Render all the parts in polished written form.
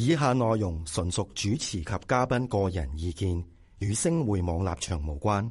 以下內容純屬主持及嘉賓個人意見，與星匯網立場無關。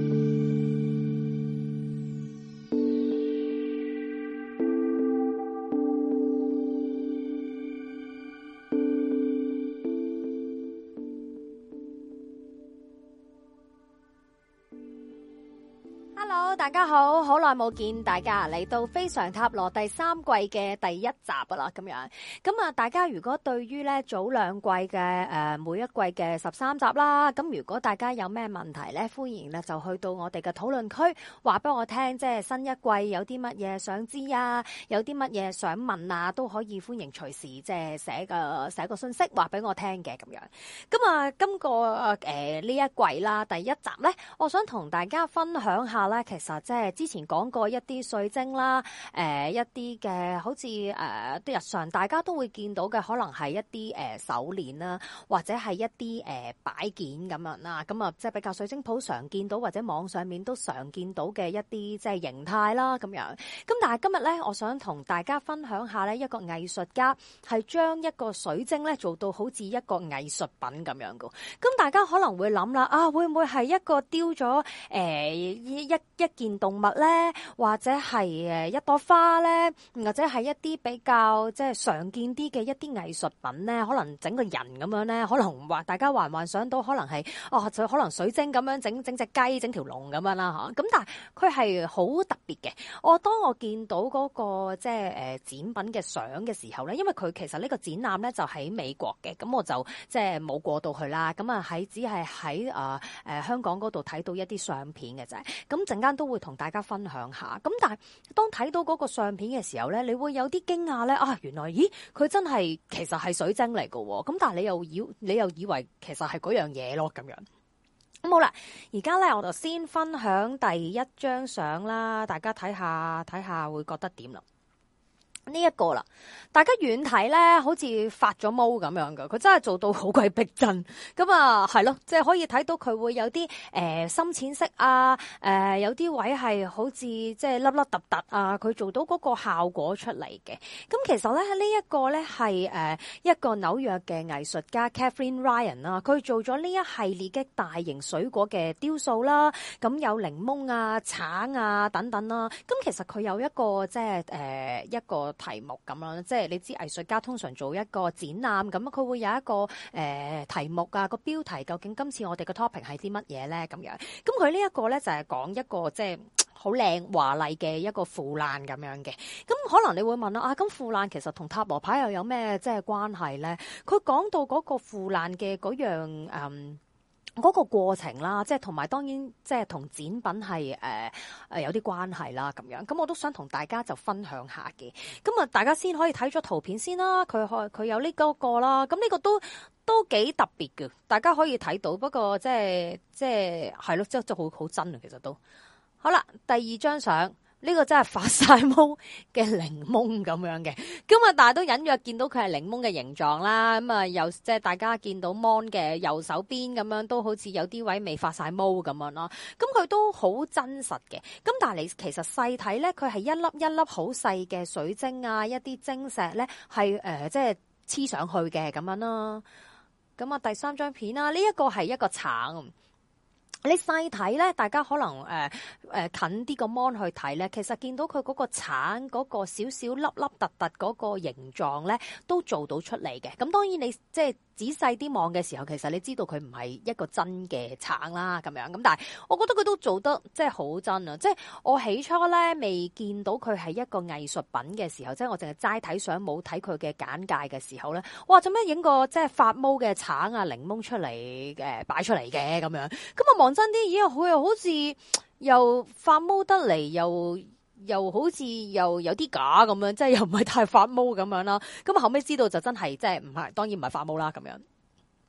大家好，好耐冇見大家嚟到非常塔羅第三季嘅第一集啦，咁樣咁啊！大家如果對於咧早兩季嘅每一季嘅13集啦，咁如果大家有咩問題咧，歡迎咧就去到我哋嘅討論區，話俾我聽，即係新一季有啲乜嘢想知啊，有啲乜嘢想問啊，都可以歡迎隨時即係寫個信息話俾我聽嘅咁樣。咁啊，今個呢一季啦，第一集咧，我想同大家分享下咧，其實即係之前講過一啲水晶啦，一啲嘅好似日常大家都會見到嘅，可能係一啲手鏈啦，或者係一啲擺件咁樣啦，咁啊即係比較水晶鋪常見到或者網上面都常見到嘅一啲即係形態啦咁樣。咁但係今日咧，我想同大家分享下咧，一個藝術家係將一個水晶咧做到好似一個藝術品咁樣噶。咁大家可能會諗啦，啊會唔會係一個雕咗一件動物咧，或者係一朵花咧，或者係一啲比較即係常見啲嘅一啲藝術品咧，可能整個人咁樣咧，可能話大家幻想到可能係就可能水晶咁樣整隻雞整條龍咁樣啦嚇。咁但係佢係好特別嘅。當我見到嗰個即係展品嘅相嘅時候咧，因為佢其實呢個展覽咧就喺美國嘅，咁我就即係冇過到去啦。咁啊只係喺香港嗰度睇到一啲相片嘅啫。咁陣間都會同大家分享下。咁但係當睇到嗰個相片嘅時候咧，你會有啲驚訝咧，原來佢真係其實係水晶嚟㗎喎。咁但係你又以為其實係嗰樣嘢咯咁樣。咁好啦，而家咧我就先分享第一張相啦，大家睇下會覺得點啦。呢一個啦，大家遠睇咧，好似發咗毛咁樣噶，佢真係做到好鬼逼真。咁啊，係咯，即係可以睇到佢會有啲深淺色啊，有啲位係好似即係凹凹凸凸啊，佢做到嗰個效果出嚟嘅。咁其實咧呢一個咧係一個紐約嘅藝術家 Catherine Ryan 啦，佢做咗呢一系列嘅大型水果嘅雕塑啦，咁有檸檬啊、橙啊等等啦。咁其實佢有一個即係一個題目咁樣，即係你知藝術家通常做一個展覽咁，佢會有一個題目啊，個標題究竟今次我哋嘅 topic 係啲乜嘢咧咁樣。咁佢呢一個咧就係講一個即係好靚華麗嘅一個腐爛咁樣嘅。咁可能你會問啦，咁腐爛其實同塔羅牌又有咩即係關係咧？佢講到嗰個腐爛嘅嗰樣嗰個過程啦，即係同埋當然即係同展品係有啲關係啦咁樣。咁我都想同大家就分享下嘅。咁啊，大家先可以睇咗圖片先啦。佢有呢個啦。咁呢個都幾特別嘅，大家可以睇到。不過即係係咯，即係好真啊，其實都好啦。第二張相。呢個真係發晒毛嘅檸檬咁樣嘅，咁啊，但係都隱約見到佢係檸檬嘅形狀啦。咁啊，又即係大家見到 mon 嘅右手邊咁樣，都好似有啲位未發晒毛咁樣啦。咁佢都好真實嘅。咁但係你其實細睇咧，佢係一粒一粒好細嘅水晶啊，一啲晶石咧係即係黐上去嘅咁樣啦。咁啊，第三張片啦，呢一個係一個橙。你細睇咧，大家可能近啲個 mon 去睇咧，其實見到佢嗰個橙嗰個少少粒粒突突嗰個形狀咧，都做到出嚟嘅。咁當然你即係仔細啲望嘅時候，其實你知道佢唔係一個真嘅橙啦，咁樣咁。但係我覺得佢都做得即係好真啊！即係我起初咧未見到佢係一個藝術品嘅時候，即係我淨係齋睇相冇睇佢嘅簡介嘅時候咧，哇！做咩影個即係發毛嘅橙啊檸檬出嚟擺出嚟嘅咁樣？咁啊望真啲，咦？佢又好似又發毛得嚟，又好似又有啲假咁樣，即係又唔係太發毛咁樣啦。咁後尾知道就真係即係唔係，當然唔係發毛啦咁樣。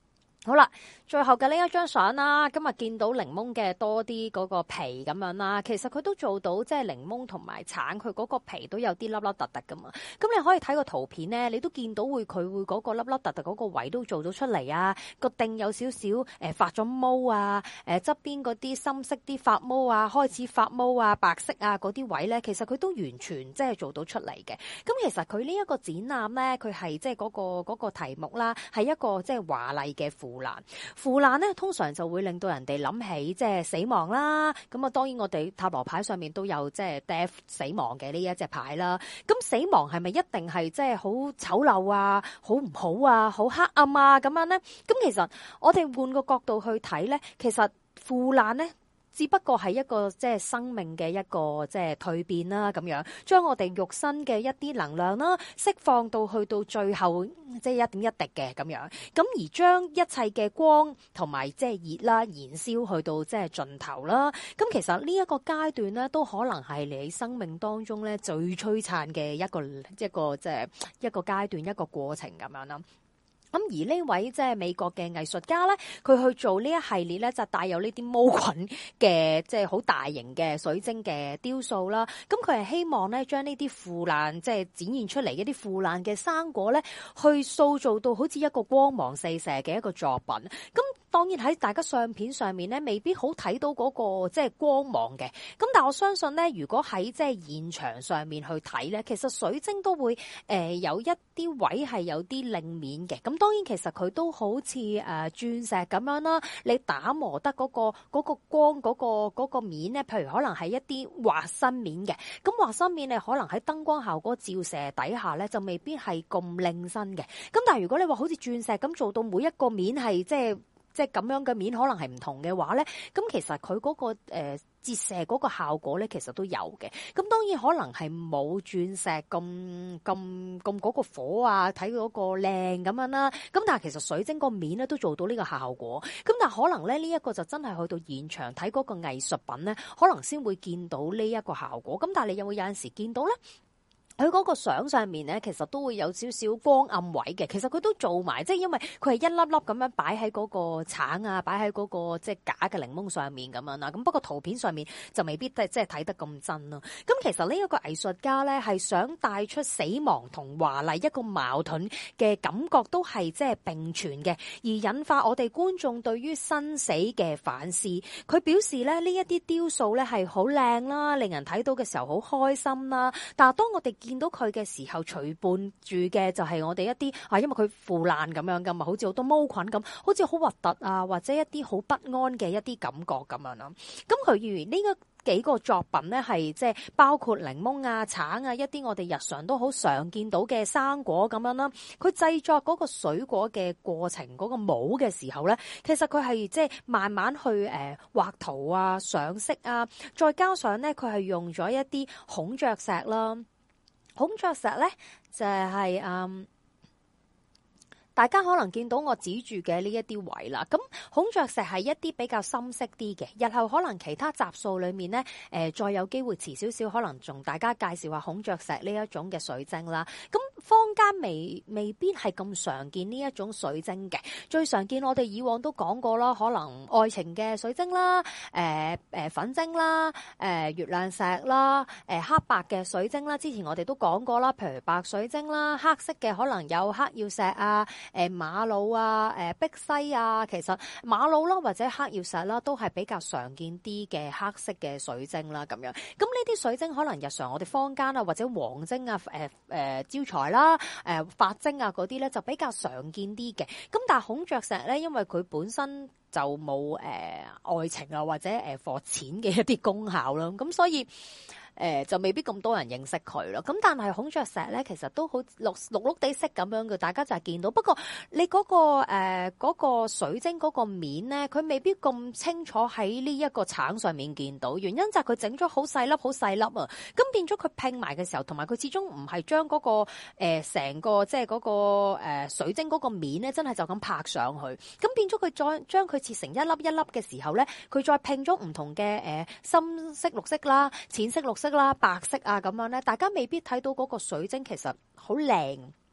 好啦，最後嘅呢一張相啦，今日見到檸檬嘅多啲嗰個皮咁樣啦，其實佢都做到即係檸檬同埋橙，佢嗰個皮都有啲粒粒突突噶嘛。咁你可以睇個圖片咧，你都見到佢會嗰個粒粒突突嗰個位都做咗出嚟啊，個頂有少少發咗毛啊，側邊嗰啲深色啲發毛啊，開始發毛啊，白色啊嗰啲位咧，其實佢都完全即係做到出嚟嘅。咁其實佢呢一個展覽咧，佢係即係嗰個題目啦，係一個即係華麗嘅腐爛咧，通常就會令到人哋諗起即係死亡啦。咁啊，當然我哋塔羅牌上面都有即係 death 死亡嘅呢一隻牌啦。咁死亡係咪一定係即係好醜陋啊、好唔好啊、好黑暗啊咁樣咧？咁其實我哋換個角度去睇咧，其實腐爛咧，只不過係一個即係生命嘅一個即係蛻變啦，咁樣將我哋肉身嘅一啲能量啦釋放到去到最後即係一點一滴嘅咁樣，咁而將一切嘅光同埋即係熱啦燃燒去到即係盡頭啦。咁其實呢一個階段咧，都可能係你生命當中咧最璀璨嘅一個即係一個階段一個過程咁樣啦。咁而呢位即係美國嘅藝術家咧，佢去做呢一系列咧，就帶有呢啲毛菌嘅即係好大型嘅水晶嘅雕塑啦。咁佢係希望咧將呢啲腐爛即係展現出嚟一啲腐爛嘅生果咧，去塑造到好似一個光芒四射嘅一個作品。咁當然喺大家相片上面咧，未必好睇到嗰個即係光芒嘅。咁但係我相信咧，如果喺即係現場上面去睇咧，其實水晶都會有一啲位係有啲亮面嘅。咁當然其實佢都好似鑽石咁樣啦，你打磨得嗰個光嗰個面咧，譬如可能係一啲滑身面嘅。咁滑身面你可能喺燈光效果照射底下咧，就未必係咁亮身嘅。咁但係如果你話好似鑽石咁做到每一個面係即係咁樣嘅面可能係唔同嘅話咧，咁其實佢嗰個折射嗰個效果咧，其實都有嘅。咁當然可能係冇鑽石咁嗰個火啊，睇嗰個靚咁樣啦。咁但係其實水晶個面咧都做到呢個效果。咁但係可能咧呢一個就真係去到現場睇嗰個藝術品咧，可能先會見到呢一個效果。咁但係你有冇有陣時見到咧？佢嗰個相上面咧，其實都會有少少光暗位嘅。其實佢都做埋，即係因為佢係一粒粒咁樣擺喺嗰個橙啊，擺喺嗰個即係假嘅檸檬上面咁樣啦。咁不過圖片上面就未必即係睇得咁真咯。咁其實呢一個藝術家咧係想帶出死亡同華麗一個矛盾嘅感覺，都係即係並存嘅，而引發我哋觀眾對於生死嘅反思。佢表示咧呢一啲雕塑咧係好靚啦，令人睇到嘅時候好開心啦。但係當我哋見到佢嘅時候，隨伴住嘅就係我哋一啲因為佢腐爛咁樣噶嘛，好似好多毛菌咁，好似好核突啊，或者一啲好不安嘅一啲感覺咁樣啦。咁佢如呢個幾個作品咧，係即係包括檸檬啊、橙啊，一啲我哋日常都好常見到嘅生果咁樣啦。佢製作嗰個水果嘅過程，嗰個模嘅時候咧，其實佢係即係慢慢去畫圖啊、上色啊，再加上咧佢係用咗一啲孔雀石啦。孔雀石咧就係大家可能見到我指住嘅呢一啲位啦。咁孔雀石係一啲比較深色啲嘅，日後可能其他集數裏面咧，再有機會遲少少，可能同大家介紹下孔雀石呢一種嘅水晶啦。咁坊間未必係咁常見呢一種水晶嘅，最常見我哋以往都講過啦，可能愛情嘅水晶啦，粉晶啦，月亮石啦，黑白嘅水晶啦，之前我哋都講過啦，譬如白水晶啦，黑色嘅可能有黑曜石啊。瑪瑙啊、碧璽啊，其實瑪瑙啦或者黑曜石啦，都係比較常見啲嘅黑色嘅水晶啦，咁樣。咁呢啲水晶可能日常我哋坊間啊或者黃晶啊、招財啦、髮晶啊嗰啲咧就比較常見啲嘅。咁但係孔雀石咧，因為佢本身就冇愛情啊或者貨錢嘅一啲功效啦，咁所以。就未必咁多人認識佢咯。咁但係孔雀石咧，其實都好綠綠地色咁樣嘅，大家就係見到。不過你嗰個水晶嗰個面咧，佢未必咁清楚喺呢一個橙上面見到。原因就係佢整咗好細粒啊。咁變咗佢拼埋嘅時候，同埋佢始終唔係將嗰個成個即係嗰個水晶嗰個面咧，真係就咁拍上去。咁變咗佢再將佢切成一粒一粒嘅時候咧，佢再拼咗唔同嘅深色綠色啦、淺色綠色啦、白色啊咁樣咧，大家未必睇到嗰個水晶其實好靚，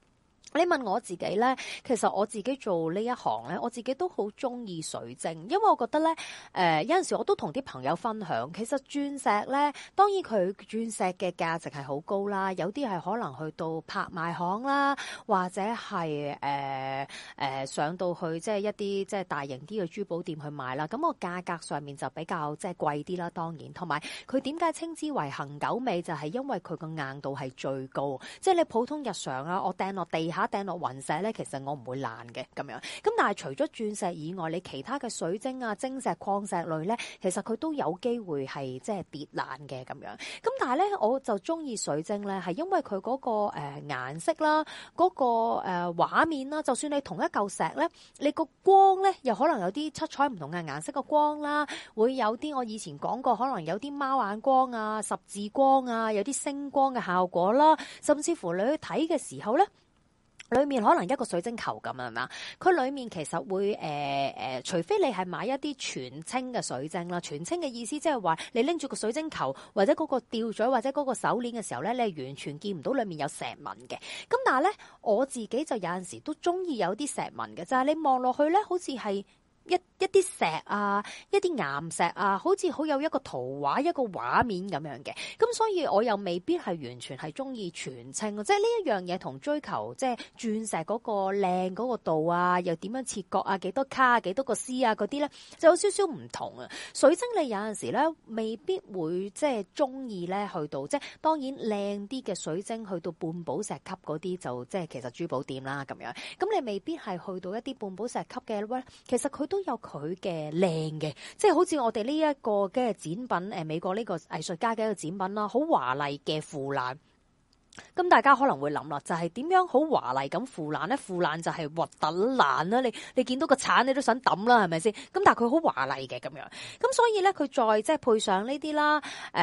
你問我自己咧，其實我自己做呢一行咧，我自己都好中意水晶，因為我覺得咧，有陣時我都同啲朋友分享，其實鑽石咧，當然佢鑽石嘅價值係好高啦，有啲係可能去到拍賣行啦，或者係上到去即係一啲即係大型啲嘅珠寶店去買啦，咁個價格上面就比較即係貴啲啦，當然，同埋佢點解稱之為恆久美，就係因為佢個硬度係最高，即係你普通日常啊，我掟落地下，掟落雲石咧，其實我唔會爛嘅咁樣。咁但係除咗鑽石以外，你其他嘅水晶啊、晶石、礦石類咧，其實佢都有機會係即係跌爛嘅咁樣。咁但係咧，我就中意水晶咧，係因為佢嗰個顏色啦、嗰個畫面啦，就算你同一嚿石咧，你個光咧又可能有啲七彩唔同嘅顏色嘅光啦，會有啲我以前講過，可能有啲貓眼光啊、十字光啊，有啲星光嘅效果啦，甚至乎你去睇嘅時候咧，裏面可能一個水晶球咁係嘛，佢裏面其實會除非你係買一啲全青嘅水晶啦，全青嘅意思即係話你拎住個水晶球或者嗰個吊墜或者嗰個手鏈嘅時候咧，你係完全見唔到裏面有石紋嘅。咁但係咧，我自己就有陣時都中意有啲石紋嘅，就係你望落去咧，好似係一啲石啊，一啲岩石啊，好似好有一個圖畫、一個畫面咁樣嘅。咁所以我又未必係完全係中意全青，即係呢一樣嘢同追求即係鑽石嗰個靚嗰個度啊，又點樣切割啊，幾多卡啊，幾多個絲啊嗰啲咧，就有少少唔同啊。水晶你有陣時咧，未必會即係中意咧去到，即係當然靚啲嘅水晶去到半寶石級嗰啲就即係其實珠寶店啦咁樣。咁你未必係去到一啲半寶石級嘅咧，其實佢都有佢嘅靚嘅，即係好似我哋呢一個嘅展品，美國呢個藝術家嘅一個展品啦，好華麗嘅腐爛。咁大家可能會諗啦，就係點樣好華麗咁腐爛咧？腐爛就係核突爛啦，你見到個鏟你都想抌啦，係咪先？咁但係佢好華麗嘅咁樣，咁所以咧佢再即係配上呢啲啦，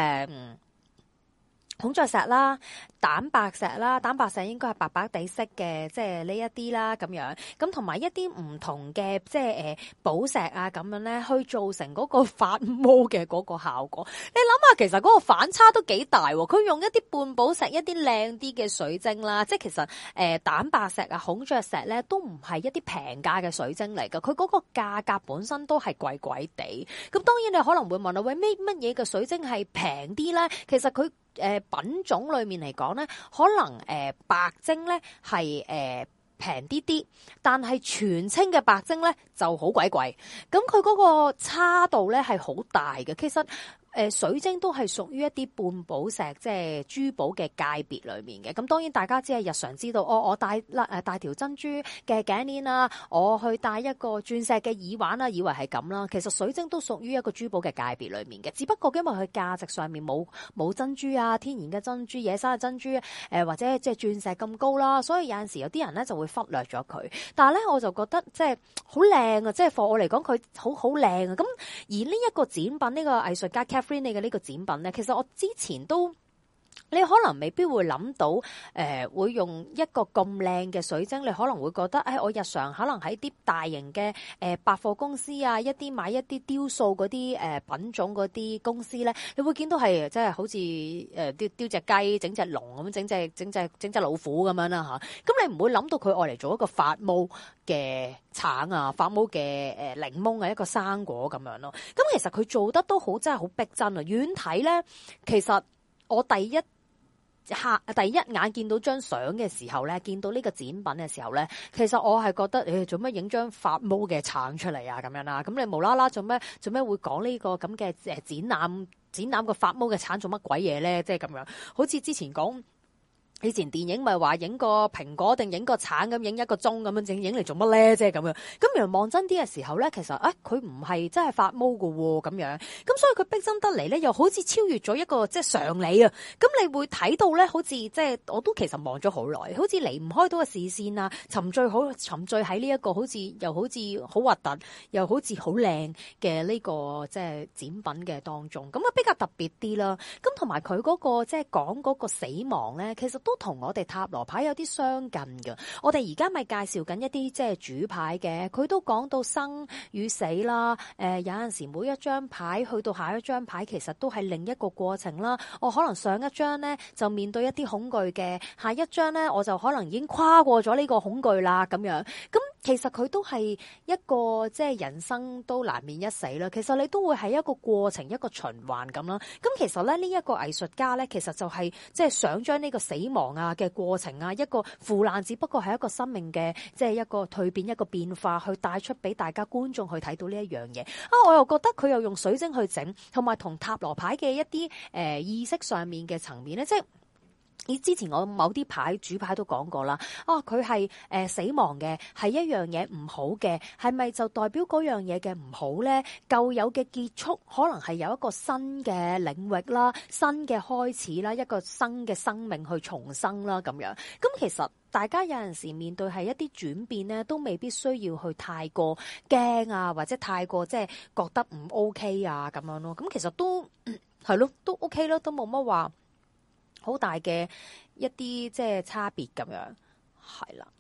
孔雀石啦、蛋白石啦，蛋白石應該係白白地色嘅，即係呢一啲啦咁樣，咁同埋一啲唔同嘅即係寶石啊咁樣咧，去造成嗰個發毛嘅嗰個效果。你諗下，其實嗰個反差都幾大喎。佢用一啲半寶石、一啲靚啲嘅水晶啦，即係其實蛋白石啊、孔雀石咧都唔係一啲平價嘅水晶嚟㗎，佢嗰個價格本身都係貴貴地。咁當然你可能會問啦，喂，乜嘢嘅水晶係平啲咧？其實佢品種裏面嚟講咧，可能白晶咧係平啲啲，但係全青嘅白晶咧就好鬼貴。咁佢嗰個差度咧係好大嘅。其實水晶都係屬於一啲半寶石，即係珠寶嘅界別裏面嘅。咁當然大家只係日常知道，我戴條珍珠嘅頸鏈啊，我去戴一個鑽石嘅耳環啊，以為係咁啦。其實水晶都屬於一個珠寶嘅界別裏面嘅，只不過因為佢價值上面冇珍珠啊，天然嘅珍珠、野生嘅珍珠，或者即係鑽石咁高啦，所以有陣時有啲人咧就會忽略咗佢。但係咧我就覺得即係好靚啊，即係對我嚟講佢好靚啊。咁而呢一個展品，呢個藝術家你嘅呢個展品咧，其實我之前都。你可能未必會諗到，會用一個咁靚嘅水晶，你可能會覺得，我日常可能喺啲大型嘅百貨公司啊，買一啲雕塑嗰啲品種嗰啲公司咧，你會見到係即係好似雕隻雞、整隻龍咁，整隻老虎咁樣啦嚇。咁你唔會諗到佢愛嚟做一個發毛嘅橙啊，發毛嘅檸檬啊，一個生果咁樣咯。咁其實佢做得都好，真係好逼真啊！遠睇咧，其實我第一眼見到張相嘅時候咧，見到呢個展品嘅時候咧，其實我係覺得做咩影張發毛嘅橙出嚟啊咁樣啦？咁你無啦啦做咩會講呢個咁嘅展覽個發毛嘅橙做乜鬼嘢咧？即係咁樣，好似之前講。以前電影咪話影個蘋果定影個橙咁，影一個鐘咁樣，整影嚟做乜咧？即係咁樣。咁原來望真啲嘅時候咧，其實佢唔係真係發毛㗎喎咁樣。咁所以佢逼真得嚟咧，又好似超越咗一個即係常理啊。咁你會睇到咧，好似即係我都其實望咗好耐，好似離唔開到個視線啊，沉醉喺呢一個好似好核突，又好似好靚嘅呢個即係展品嘅當中。咁啊比較特別啲啦。咁同埋佢嗰個即係講嗰個死亡咧，其實都都同我哋塔羅牌有啲相近嘅。我哋而家咪介紹緊一啲即係主牌嘅，佢都講到生與死啦。有陣時每一張牌去到下一張牌，其實都係另一個過程啦。我可能上一張咧就面對一啲恐懼嘅，下一張咧我就可能已經跨過咗呢個恐懼啦咁樣。咁其實佢都係一個即係人生都難免一死啦。其實你都會係一個過程，一個循環咁啦。咁其實咧呢一個藝術家咧，其實就係即係想將呢個死亡啊嘅過程啊，一個腐爛只不過係一個生命嘅即係一個蛻變，一個變化，去帶出俾大家觀眾去睇到呢一樣嘢啊！我又覺得佢又用水晶去整，同埋同塔羅牌嘅一啲意識上面嘅層面咧，即係。之前我某啲牌主牌都講過啦，佢係死亡嘅，係一樣嘢唔好嘅，係咪就代表嗰樣嘢嘅唔好呢？舊有嘅結束，可能係有一個新嘅領域啦，新嘅開始啦，一個新嘅生命去重生啦，咁樣。咁其實大家有陣時面對係一啲轉變呢，都未必需要去太過驚啊，或者太過即係覺得唔 OK 啊咁樣咯。咁其實都係咯，都 OK 咯，都冇乜話好大嘅一啲即係差別咁樣，係啦。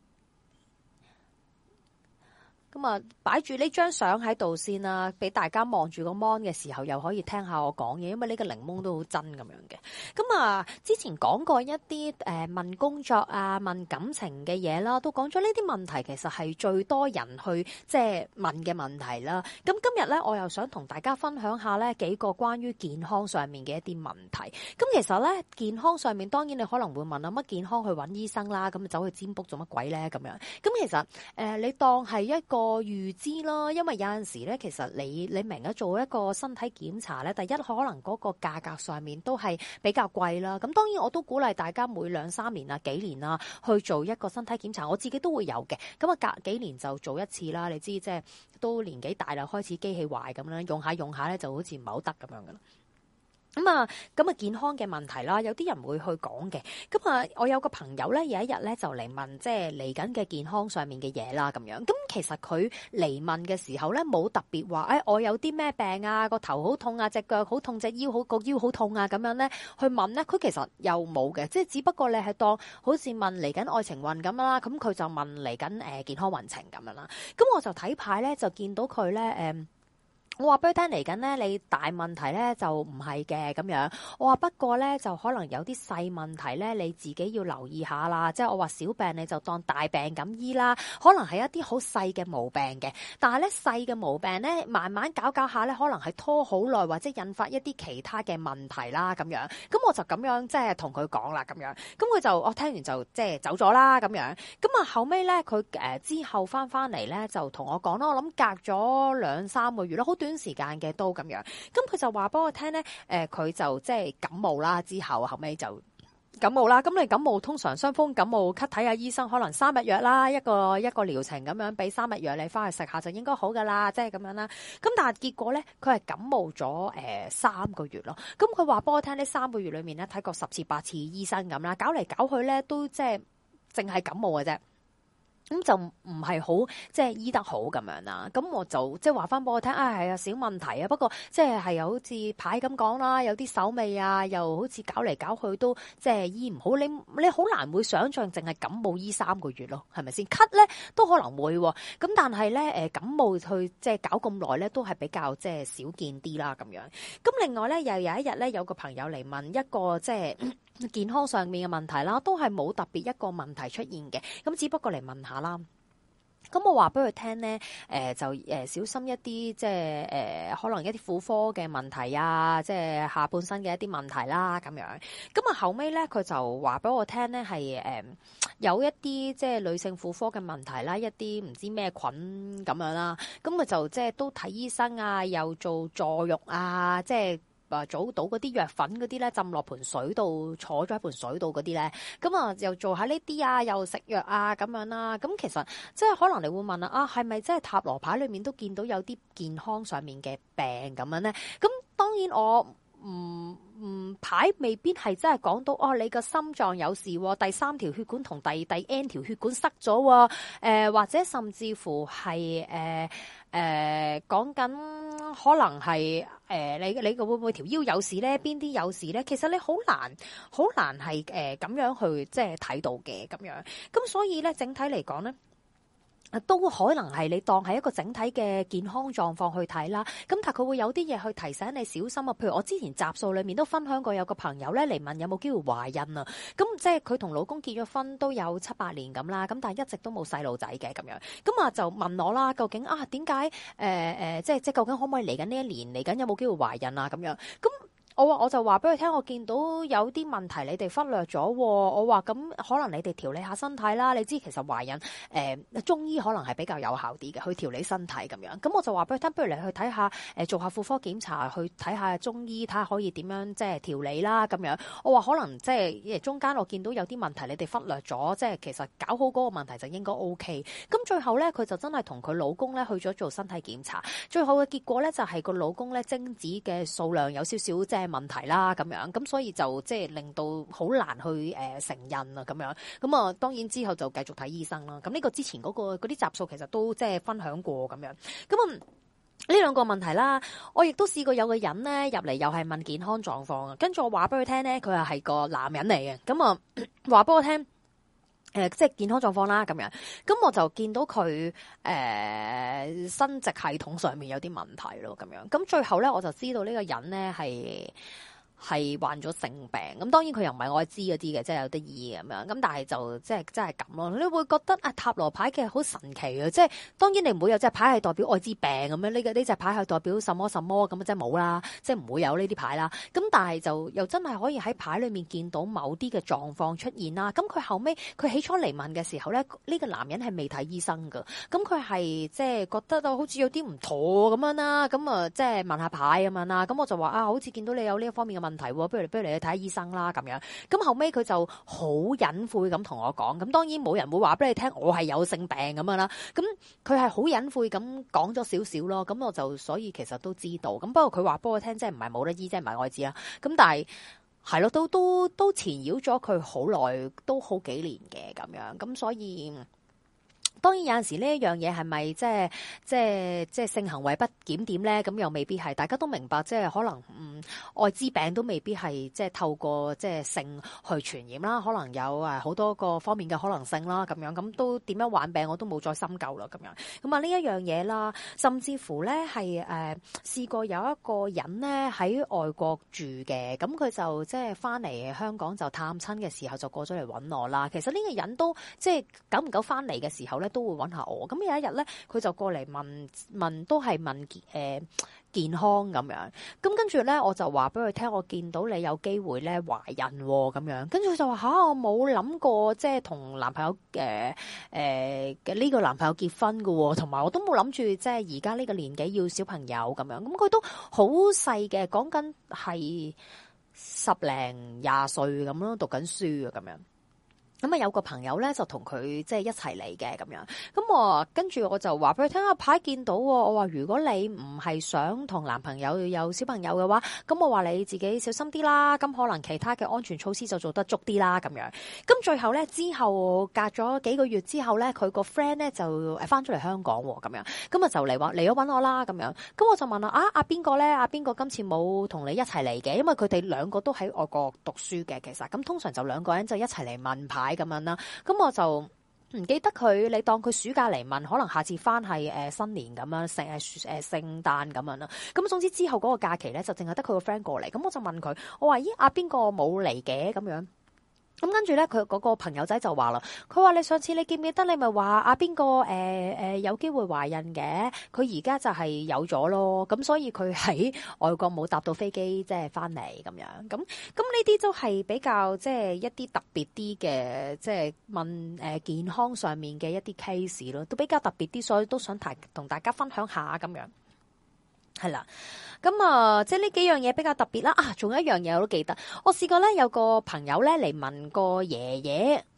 咁啊，擺住呢張相喺度先啦，俾大家望住個 mon 嘅時候，又可以聽下我講嘢，因為呢個檸檬都好真咁樣嘅。咁啊，之前講過一啲問工作啊、問感情嘅嘢啦，都講咗呢啲問題，其實係最多人去即係問嘅問題啦。咁今日咧，我又想同大家分享下咧幾個關於健康上面嘅一啲問題。咁其實咧，健康上面當然你可能會問啊，乜健康去揾醫生啦，咁走去占卜做乜鬼咧咁樣？咁其實你當係一個預知啦，因為有陣時咧，其實你明咗做一個身體檢查咧，第一可能嗰個價格上面都係比較貴啦。咁當然我都鼓勵大家每2-3年啊、幾年啊去做一個身體檢查，我自己都會有嘅。咁啊，隔幾年就做一次啦。你知即係都年紀大啦，開始機器壞咁啦，用下咧就好似唔係好得咁樣噶啦。咁啊健康嘅問題啦，有啲人會去講嘅。咁啊，我有個朋友咧，有一日咧就嚟問，即係嚟緊嘅健康上面嘅嘢啦，咁樣。咁其實佢嚟問嘅時候咧，冇特別話，我有啲咩病啊，個頭好痛啊，隻腳好痛，隻腰好痛啊，咁樣咧去問咧，佢其實又冇嘅，即係只不過你係當好似問嚟緊愛情運咁啦，咁佢就問嚟緊健康運程咁樣啦。咁我就睇牌咧，就見到佢咧我話俾佢聽嚟緊咧，你大問題咧就唔係嘅咁樣。我話不過咧就可能有啲細問題咧，你自己要留意下啦。即係我話小病你就當大病咁醫啦。可能係一啲好細嘅毛病嘅，但係咧細嘅毛病咧慢慢搞下咧，可能係拖好耐或者引發一啲其他嘅問題啦咁樣。咁我就咁樣即係同佢講啦咁樣。咁佢就我聽完就即係走咗啦咁樣。咁啊後尾咧佢之後翻嚟咧就同我講啦，我諗隔咗2-3個月啦，好短時間嘅都咁樣，咁佢就話俾我聽咧，佢就即係感冒啦，之後尾就感冒啦。咁你感冒通常傷風感冒咳睇下醫生，可能3日藥啦，一個療程咁樣，俾3日藥你翻去食下就應該好噶啦，即係咁樣啦。咁但係結果咧，佢係感冒咗3個月咯。咁佢話俾我聽呢3個月裏面咧睇過10次8次醫生咁啦，搞嚟搞去咧都即係淨係感冒嘅啫。咁就唔係好即係醫得好咁樣啦。咁我就即係話翻俾我聽，係啊小問題啊。不過即係又好似牌咁講啦，有啲手尾啊，又好似搞嚟搞去都即係醫唔好。你好難會想像淨係感冒醫3個月咯，係咪先？咳咧都可能會喎。咁但係咧感冒去即係搞咁耐咧，都係比較即係少見啲啦咁樣。咁另外咧又有一日咧，有個朋友嚟問一個即係健康上面嘅問題啦，都係冇特別一個問題出現嘅，咁只不過嚟問下啦。咁我話俾佢聽咧，就小心一啲，即係可能一啲婦科嘅問題啊，即係下半身嘅一啲問題啦，咁樣。咁啊後尾咧，佢就話俾我聽咧，係有一啲即係女性婦科嘅問題啦，一啲唔知咩菌咁樣啦。咁佢就即係都睇醫生啊，又做坐浴啊，即係。早倒嗰啲藥粉嗰啲咧，浸落盆水度，坐咗喺盆水度嗰啲咧，咁啊又做下呢啲啊，又食藥啊咁樣啦。咁其實即係可能你會問啊，係咪即係塔羅牌裏面都見到有啲健康上面嘅病咁樣咧？咁當然我牌未必係真係講到你個心臟有事，第3條血管同第 N 條血管塞咗，或者甚至乎係講緊可能係你會唔會條腰有事咧？邊啲有事咧？其實你好難係咁樣去即係睇到嘅咁樣。咁所以咧，整體嚟講咧，都可能係你當係一個整體嘅健康狀況去睇啦。咁但係佢會有啲嘢去提醒你小心啊。譬如我之前集數裏面都分享過，有個朋友咧嚟問有冇機會懷孕啊。咁即係佢同老公結咗婚都有7-8年咁啦。咁但係一直都冇細路仔嘅咁樣。咁啊就問我啦，究竟點解即係究竟可唔可以嚟緊呢一年嚟緊有冇機會懷孕啊？咁樣咁。我就話俾佢聽，我見到有啲問題你哋忽略咗。我話咁可能你哋調理下身體啦。你知其實懷孕中醫可能係比較有效啲嘅，去調理身體咁樣。咁我就話俾佢聽，不如你去睇下做下婦科檢查，去睇下中醫，睇下可以點樣即係調理啦咁樣。我話可能即係中間我見到有啲問題你哋忽略咗，即係其實搞好嗰個問題就應該 OK。咁最後咧，佢就真係同佢老公咧去咗做身體檢查，最後嘅結果咧就係個老公咧精子嘅數量有少少即係問題啦咁樣，咁所以就即係令到好難去承孕啊咁樣，咁啊當然之後就繼續睇醫生啦。咁呢個之前嗰啲集數其實都即係分享過咁樣，咁呢兩個問題啦，我亦都試過有個人咧入嚟又係問健康狀況啊，跟住我話俾佢聽咧，佢係個男人嚟嘅，咁啊話俾我聽。即係健康狀況啦，咁樣，咁我就見到佢生殖系統上面有啲問題咯，咁樣，咁最後咧我就知道呢個人咧係患咗性病，咁當然佢又唔係愛滋嗰啲嘅，即係有啲意咁樣，咁但係就即係真係咁咯。你會覺得塔羅牌其實好神奇嘅，即係當然你唔會有隻牌係代表愛滋病咁樣，呢隻牌係代表什麼什麼咁，即係冇啦，即係唔會有呢啲牌啦。咁但係就又真係可以喺牌裏面見到某啲嘅狀況出現啦。咁佢後尾佢起初嚟問嘅時候咧，呢個男人係未睇醫生噶，咁佢係即係覺得好似有啲唔妥咁樣啦，咁啊即係問下牌咁樣啦。咁我就話好似見到你有呢一方面嘅問題，不如你去睇下醫生啦咁樣。咁後尾佢就好隱晦咁同我講，咁當然冇人會話俾你聽我係有性病咁樣啦。咁佢係好隱晦咁講咗少少咯。咁我就所以其實都知道。咁不過佢話俾我聽，即係唔係冇得醫，即係唔係愛滋啦。咁但係係咯，都纏繞咗佢好耐，都好幾年嘅咁樣。咁所以。當然有陣時呢一樣嘢係咪即係性行為不檢點咧？咁又未必係，大家都明白，即係可能愛滋病都未必係即係透過即係性去傳染啦，可能有好多個方面嘅可能性啦，咁樣咁都點樣患病我都冇再深究啦，咁樣咁啊呢一樣嘢啦，甚至乎咧係試過有一個人咧喺外國住嘅，咁佢就即係翻嚟香港就探親嘅時候就過咗嚟揾我啦。其實呢個人都即係久唔久翻嚟嘅時候咧，都會揾下我。咁有一日咧，佢就過嚟問都係問健康咁樣。咁跟住咧，我就話俾佢聽，我見到你有機會咧懷孕咁樣。跟住佢就話我冇諗過即係同男朋友呢個男朋友結婚噶，同埋我都冇諗住即係而家呢個年紀要小朋友咁樣。咁佢都好細嘅，講緊係10零20歲咁咯，讀緊書啊咁樣。咁啊有個朋友咧就同佢即係一齊嚟嘅咁樣，咁我跟住我就話俾佢聽，牌見到，我話如果你唔係想同男朋友有小朋友嘅話，咁我話你自己小心啲啦，咁可能其他嘅安全措施就做得足啲啦咁樣。咁最後咧之後隔咗幾個月之後咧，佢個 friend 咧就翻咗嚟香港咁樣，咁啊就嚟咗搵我啦咁樣。咁我就問啦，阿邊個咧？阿邊個今次冇同你一齊嚟嘅？因為佢哋兩個都喺外國讀書嘅，其實咁通常就兩個人就一齊嚟問牌咁樣啦，咁我就唔記得佢，你當佢暑假嚟問，可能下次翻係新年咁樣，聖誕咁樣啦。咁總之之後嗰個假期咧，就淨係得佢個 friend 過嚟，咁我就問佢，我話咦阿邊個冇嚟嘅咁樣。咁跟住咧，佢嗰個朋友仔就話啦，佢話你上次你記唔記得你咪話阿邊個有機會懷孕嘅？佢而家就係有咗咯，咁所以佢喺外國冇搭到飛機，即係翻嚟咁樣。咁呢啲都係比較即係一啲特別啲嘅，即係問健康上面嘅一啲 case 咯，都比較特別啲，所以都想同大家分享下咁樣。係啦，咁啊，即係呢幾樣嘢比較特別啦。仲有一樣嘢我都記得，我試過咧有個朋友咧嚟問個爺爺，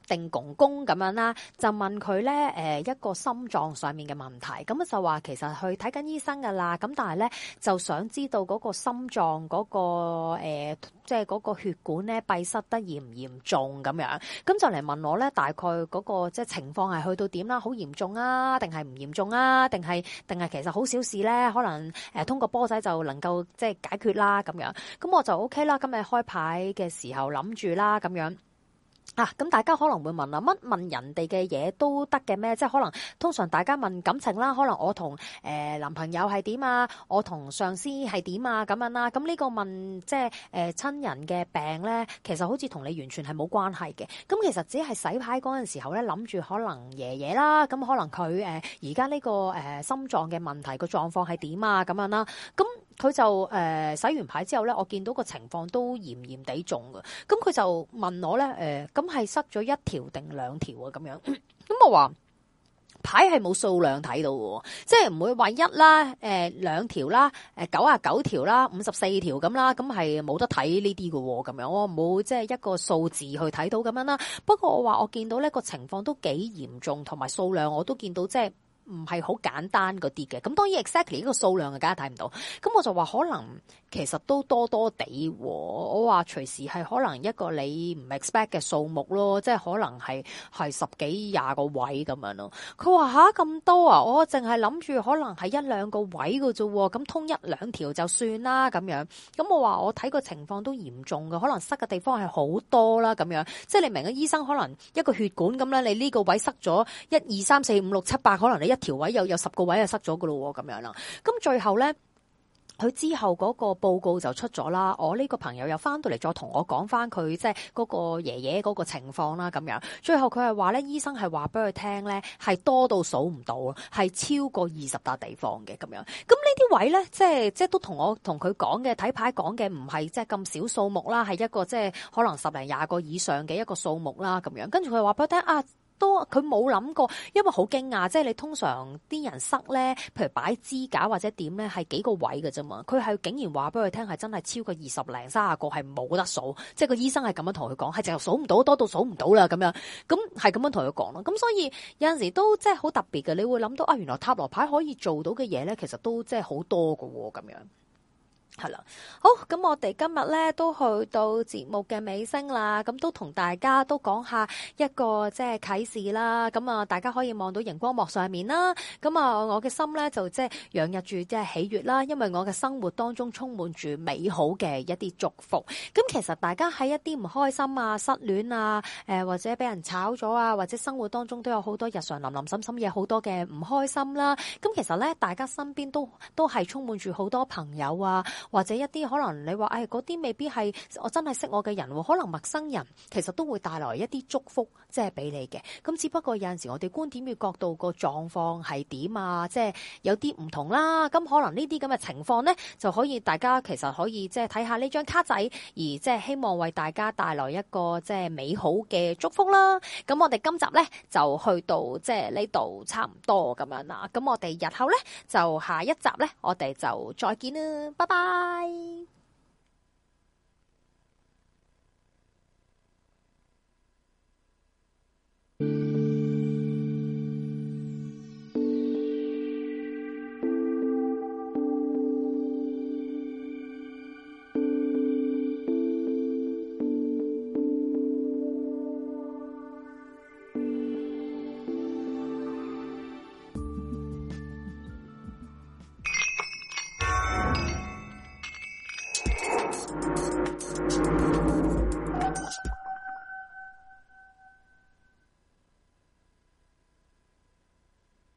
定公公咁樣啦，就問佢咧一個心臟上面嘅問題，咁就話其實去睇緊醫生噶啦，咁但係咧就想知道嗰個心臟嗰個即係嗰個血管咧閉塞得嚴唔嚴重咁樣，咁就嚟問我咧大概嗰個即係情況係去到點啦，好嚴重啊，定係唔嚴重啊，定係其實好小事咧，可能通過波仔就能夠即係解決啦咁樣，咁我就 OK 啦，今日開牌嘅時候諗住啦咁樣。咁大家可能會問啦，乜問人哋嘅嘢都得嘅咩？即係可能通常大家問感情啦，可能我同男朋友係點啊，我同上司係點啊咁樣啦。咁呢個問即係親人嘅病咧，其實好似同你完全係冇關係嘅。咁其實只係洗牌嗰陣時候咧，諗住可能爺爺啦，咁可能佢而家呢個心臟嘅問題個狀況係點啊咁樣啦。咁佢就洗完牌之後咧，我見到個情況都嚴嚴地重嘅。咁佢就問我咧咁係塞咗1條定2條啊？咁樣，咁我話牌係冇數量睇到嘅，即係唔會話1啦、2條啦、99條啦、54條咁啦，咁係冇得睇呢啲嘅咁樣，我冇即係一個數字去睇到咁樣啦。不過我話我見到呢個情況都幾嚴重，同埋數量我都見到即係唔係好簡單嗰啲嘅。咁當然 exactly 呢個數量梗係睇唔到，咁我就話可能其實都多多地，我話隨時係可能一個你唔 expect 嘅數目咯，即係可能係10幾20個位咁樣咯。佢話吓咁多啊，我淨係諗住可能係1、2個位嘅啫，咁通1、2條就算啦咁樣。咁我話我睇個情況都嚴重嘅，可能塞嘅地方係好多啦咁樣。即係你明嘅，醫生可能一個血管咁啦，你呢個位塞咗1、2、3、4、5、6、7、8，可能你1條位有10個位就塞咗噶咯咁樣啦。咁最後咧，佢之後嗰個報告就出咗啦。我呢個朋友又翻到嚟再同我講翻佢即係嗰個爺爺嗰個情況啦咁樣。最後佢係話咧，醫生係話俾佢聽咧，係多到數唔到，係超過20笪地方嘅咁樣。咁呢啲位咧，即係都同佢講嘅睇牌講嘅唔係即係咁少數目啦，係一個即係可能10零20個以上嘅一個數目啦咁樣。跟住佢話俾佢聽啊。都佢冇諗過，因為好驚訝，即係你通常啲人塞咧，譬如擺支架或者點咧，係幾個位嘅啫嘛。佢係竟然話俾佢聽係真係超過20零30個，係冇得數。即係個醫生係咁樣同佢講，係淨係數唔到，多到數唔到啦咁樣。咁係咁樣同佢講咯。咁所以有陣時都即係好特別嘅，你會諗到啊，原來塔羅牌可以做到嘅嘢咧，其實都即係好多㗎喎咁樣。係啦，好，咁我哋今日咧都去到節目嘅尾聲啦，咁都同大家都講下一個即係啟示啦，咁啊大家可以望到熒光幕上面啦，咁啊我嘅心咧就即係洋溢住即係喜悅啦，因為我嘅生活當中充滿住美好嘅一啲祝福。咁其實大家喺一啲唔開心啊、失戀啊、或者俾人炒咗啊，或者生活當中都有好多日常林林沈沈嘢，好多嘅唔開心啦。咁其實咧，大家身邊都係充滿住好多朋友啊。或者一啲可能你話嗰啲未必係我真係識我嘅人，可能陌生人其實都會帶來一啲祝福，即係俾你嘅。咁只不過有陣時我哋觀點與角度個狀況係點啊，即係有啲唔同啦。咁可能呢啲咁嘅情況呢，就可以大家其實可以即係睇下呢張卡仔，而即係希望為大家帶來一個即係美好嘅祝福啦。咁我哋今集呢，就去到即係呢度差唔多咁樣啦。咁我哋日後呢，就下一集呢，我哋就再見啦，拜拜。